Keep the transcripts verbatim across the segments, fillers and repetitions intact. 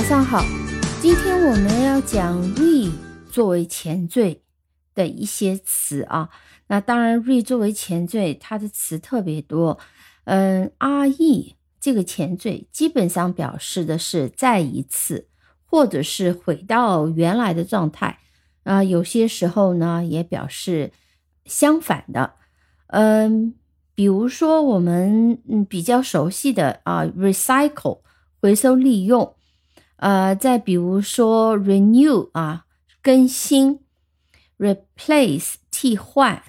上好，今天我们要讲 re 作为前缀的一些词啊。那当然 re 作为前缀它的词特别多，嗯 re 这个前缀基本上表示的是再一次或者是回到原来的状态啊、呃，有些时候呢也表示相反的。嗯，比如说我们嗯比较熟悉的啊 recycle 回收利用，呃，再比如说 renew 啊更新， replace 替换，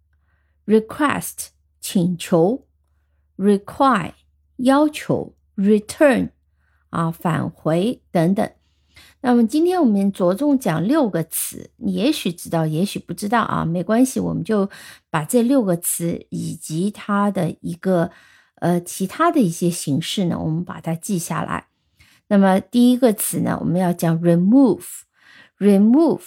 request 请求， require 要求， return 啊返回等等。那么今天我们着重讲六个词，你也许知道也许不知道啊，没关系，我们就把这六个词以及它的一个呃其他的一些形式呢，我们把它记下来。那么第一个词呢，我们要讲 remove remove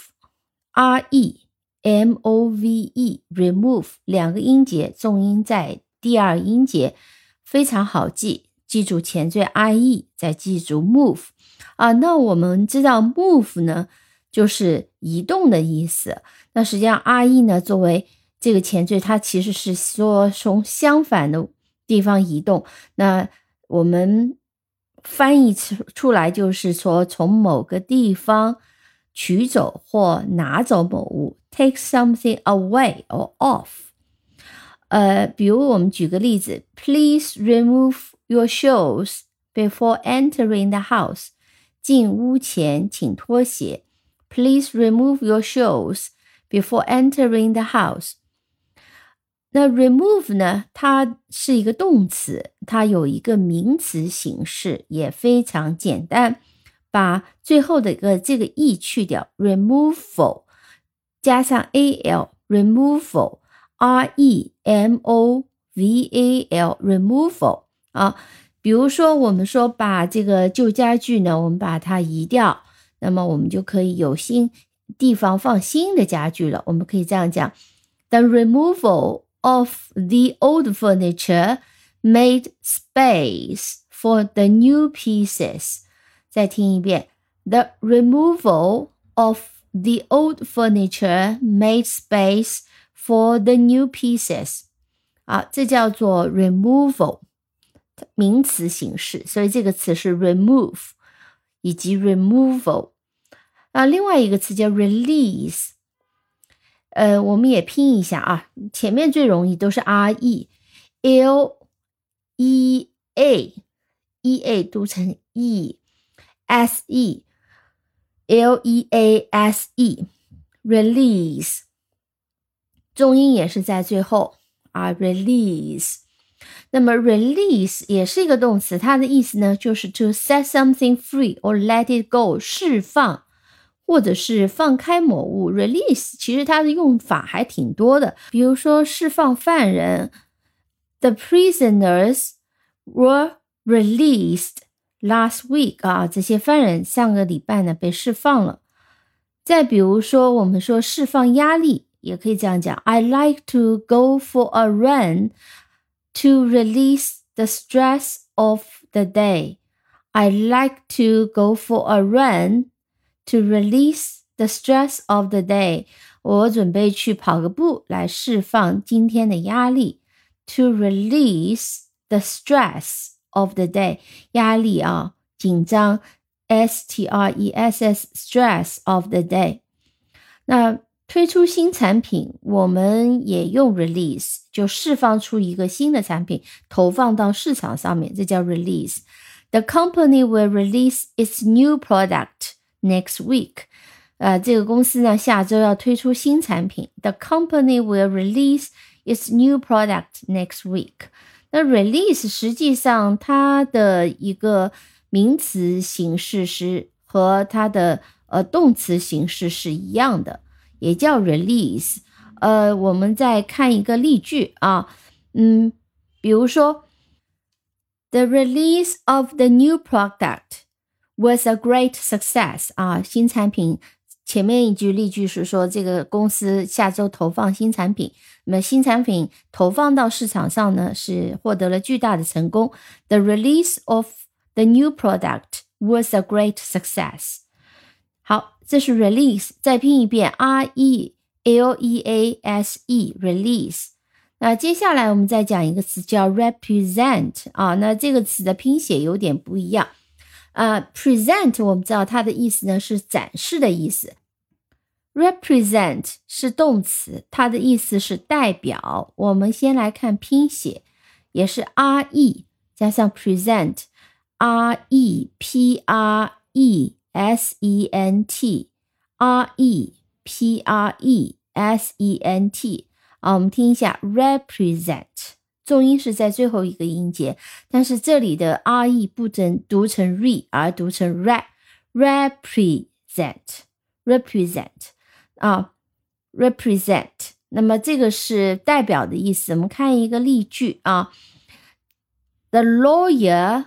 R E M O V E remove 两个音节，重音在第二音节，非常好记，记住前缀 I E 再记住 move啊。那我们知道 move 呢就是移动的意思，那实际上 R E 呢作为这个前缀，它其实是说从相反的地方移动，那我们翻译出来就是说从某个地方取走或拿走某物， take something away or off。 呃，比如我们举个例子， Please remove your shoes before entering the house。 进屋前请脱鞋， Please remove your shoes before entering the house。那 remove 呢，它是一个动词，它有一个名词形式，也非常简单，把最后的一个这个 e 去掉， removal 加上 al removal R E M O V A L removal 啊。比如说我们说把这个旧家具呢，我们把它移掉，那么我们就可以有新地方放新的家具了。我们可以这样讲， The removal of the old furniture made space for the new pieces。 再听一遍， The removal of the old furniture made space for the new pieces。 啊，这叫做 removal 名词形式，所以这个词是 remove 以及 removal。 啊，另外一个词叫 release，呃，我们也拼一下啊，前面最容易都是 R E L E A E A 读成 E S E L E A S E release， 重音也是在最后啊 release。 那么 release 也是一个动词，它的意思呢就是 to set something free or let it go， 释放或者是放开某物。 release 其实它的用法还挺多的，比如说释放犯人， The prisoners were released last week 啊，这些犯人上个礼拜呢被释放了。再比如说我们说释放压力，也可以这样讲， I like to go for a run to release the stress of the day。 I like to go for a run to release the stress of the day。 我准备去跑个步来释放今天的压力。 To release the stress of the day， 压力啊，紧张 S T R E S S stress of the day。 那推出新产品我们也用 release， 就释放出一个新的产品投放到市场上面，这叫 release。 The company will release its new product next week。 呃，这个公司呢下周要推出新产品， The company will release its new product next week。 那 release 实际上它的一个名词形式是和它的呃动词形式是一样的，也叫 release。 呃，我们再看一个例句啊，嗯，比如说 The release of the new product was a great success 啊，新产品前面一句例句是说这个公司下周投放新产品，那么新产品投放到市场上呢是获得了巨大的成功。 The release of the new product was a great success。 好，这是 release， 再拼一遍 R E L E A S E release。 那接下来我们再讲一个词叫 represent 啊，那这个词的拼写有点不一样。呃 present 我们知道它的意思呢是展示的意思， represent 是动词，它的意思是代表。我们先来看拼写，也是 R E 加上 present， R E P R E S E N T R E P R E S E N T 啊，我们听一下 represent， 重音是在最后一个音节，但是这里的 R E 不能读成 re 而读成 re represent represent 啊 represent， 那么这个是代表的意思。我们看一个例句啊， The lawyer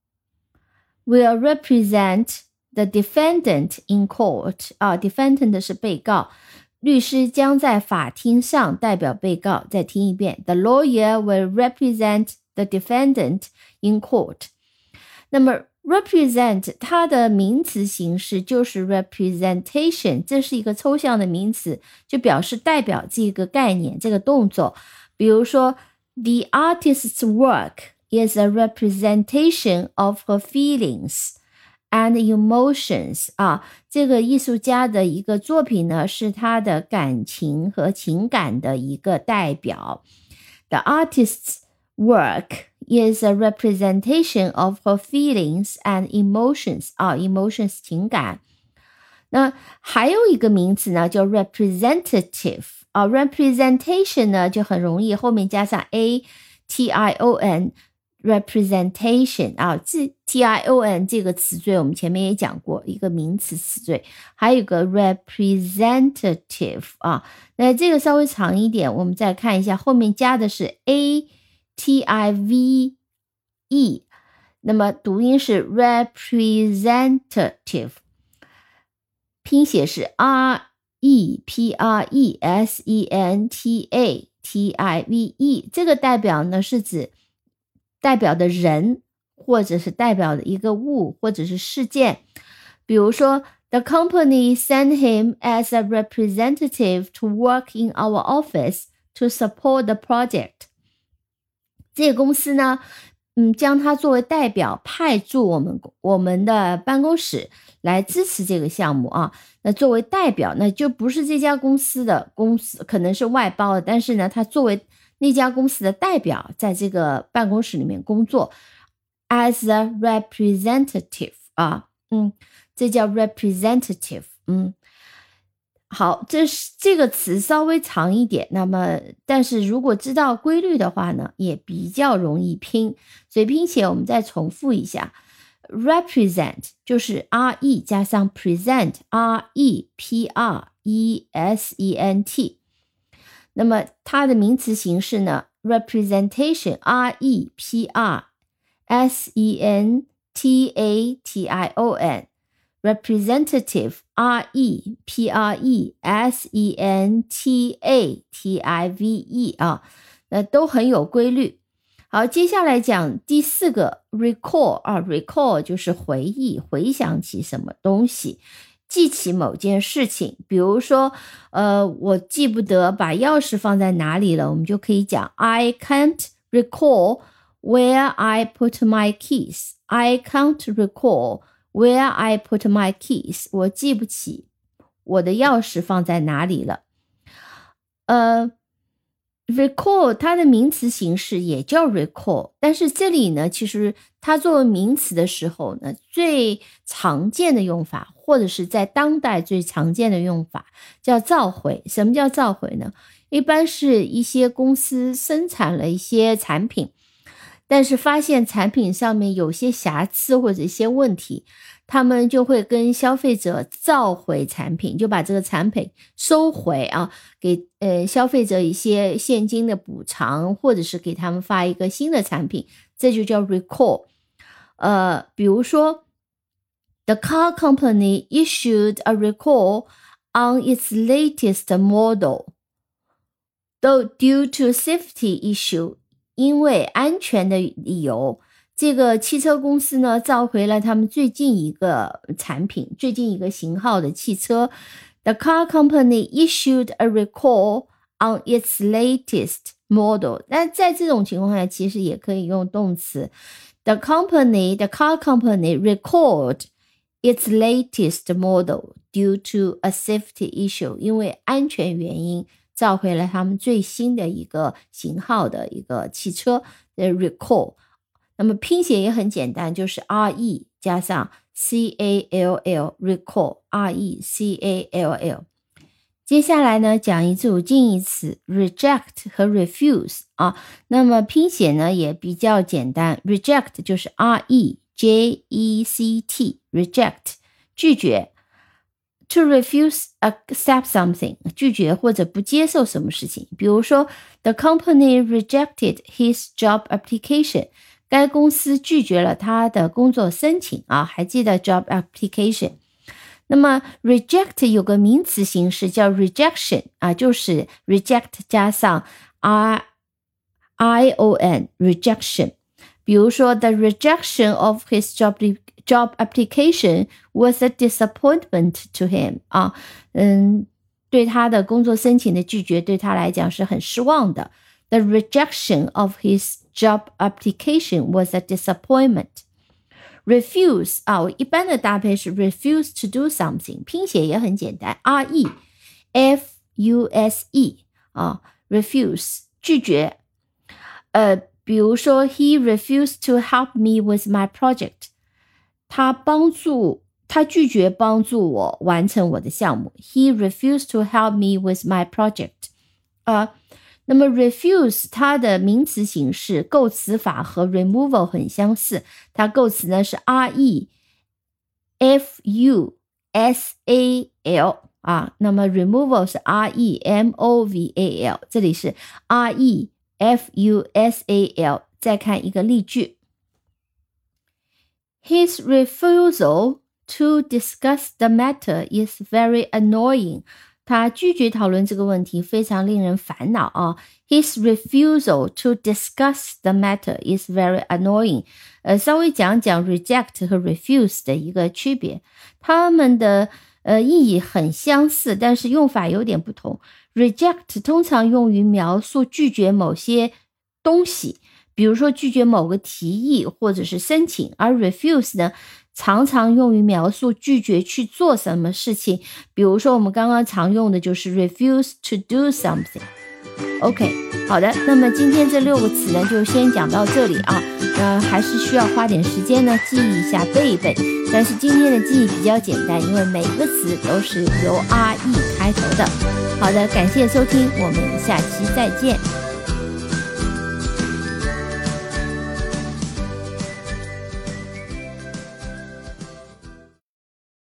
will represent the defendant in court 啊 defendant 是被告，律师将在法庭上代表被告。再听一遍 The lawyer will represent the defendant in court。 那么 represent 它的名词形式就是 representation， 这是一个抽象的名词，就表示代表这个概念，这个动作。比如说 The artist's work is a representation of her feelings and emotions 啊，这个艺术家的一个作品呢，是他的感情和情感的一个代表。 The artist's work is a representation of her feelings and emotions 啊 emotions 情感。那还有一个名词呢叫 representative 啊 representation 呢就很容易后面加上 A T I O N representation 啊，这 T I O N 这个词缀我们前面也讲过，一个名词词缀，还有一个 representative 啊，那这个稍微长一点，我们再看一下后面加的是 A T I V E， 那么读音是 representative， 拼写是 R E P R E S E N T A T I V E， 这个代表呢是指代表的人，或者是代表的一个物，或者是事件。比如说 The company sent him as a representative to work in our office to support the project。 这个公司呢嗯，将他作为代表派驻我们我们的办公室来支持这个项目啊。那作为代表，那就不是这家公司的公司，可能是外包的，但是呢他作为那家公司的代表在这个办公室里面工作 as a representative 啊，嗯，这叫 representative， 嗯，好，这是这个词稍微长一点，那么但是如果知道规律的话呢，也比较容易拼，所以拼写我们再重复一下 represent 就是 R E 加上 present R E P R E S E N T，那么它的名词形式呢 representation R E P R S E N T A T I O N representative R E P R E S E N T A T I V E 啊，那都很有规律。好，接下来讲第四个 recall 啊 recall 就是回忆，回想起什么东西，记起某件事情。比如说呃，我记不得把钥匙放在哪里了，我们就可以讲 I can't recall where I put my keys I can't recall where I put my keys 我记不起我的钥匙放在哪里了。呃recall 它的名词形式也叫 recall， 但是这里呢其实它作为名词的时候呢，最常见的用法或者是在当代最常见的用法叫召回。什么叫召回呢？一般是一些公司生产了一些产品，但是发现产品上面有些瑕疵或者一些问题，他们就会跟消费者召回产品，就把这个产品收回啊，给呃消费者一些现金的补偿，或者是给他们发一个新的产品，这就叫 recall。呃，比如说 The car company issued a recall on its latest model, though due to safety issue， 因为安全的理由， 这个汽车公司呢召回了他们最近一个产品，最近一个型号的汽车。The car company issued a recall on its latest model. 但在这种情况下其实也可以用动词。The company, the car company recalled its latest model due to a safety issue. 因为安全原因召回了他们最新的一个型号的一个汽车的 recall。那么拼写也很简单，就是 R E 加上 C A L L recall R E C A L L。 接下来呢讲一组近义词 reject 和 refuse 啊，那么拼写呢也比较简单， reject 就是 R E J E C T reject 拒绝， to refuse accept something 拒绝或者不接受什么事情，比如说 the company rejected his job application，该公司拒绝了他的工作申请啊，还记得 job application。 那么 reject 有个名词形式叫 rejection 啊，就是 reject 加上 R I O N rejection。 比如说 the rejection of his job job application was a disappointment to him 啊，嗯，对他的工作申请的拒绝对他来讲是很失望的。The rejection of his job application was a disappointment. Refuse 啊，我一般的搭配是 refuse to do something， 拼写也很简单 R E F U S E 啊 refuse 拒绝。呃，比如说 he refused to help me with my project， 他帮助他拒绝帮助我完成我的项目。 He refused to help me with my project。 呃那么 refuse 它的名词形式构词法和 removal 很相似，它构词呢是 R E F U S A L 啊，那么 removal 是 R E M O V A L， 这里是 R E F U S A L。 再看一个例句， His refusal to discuss the matter is very annoying。他拒绝讨论这个问题非常令人烦恼啊。His refusal to discuss the matter is very annoying。呃，稍微讲讲 reject 和 refuse 的一个区别，它们的呃意义很相似，但是用法有点不同。Reject 通常用于描述拒绝某些东西，比如说拒绝某个提议或者是申请，而 refuse 呢常常用于描述拒绝去做什么事情，比如说我们刚刚常用的就是 refuse to do something。 OK， 好的，那么今天这六个词呢就先讲到这里啊，呃，还是需要花点时间呢记忆一下背一背，但是今天的记忆比较简单，因为每个词都是由 R E 开头的。好的，感谢收听，我们下期再见。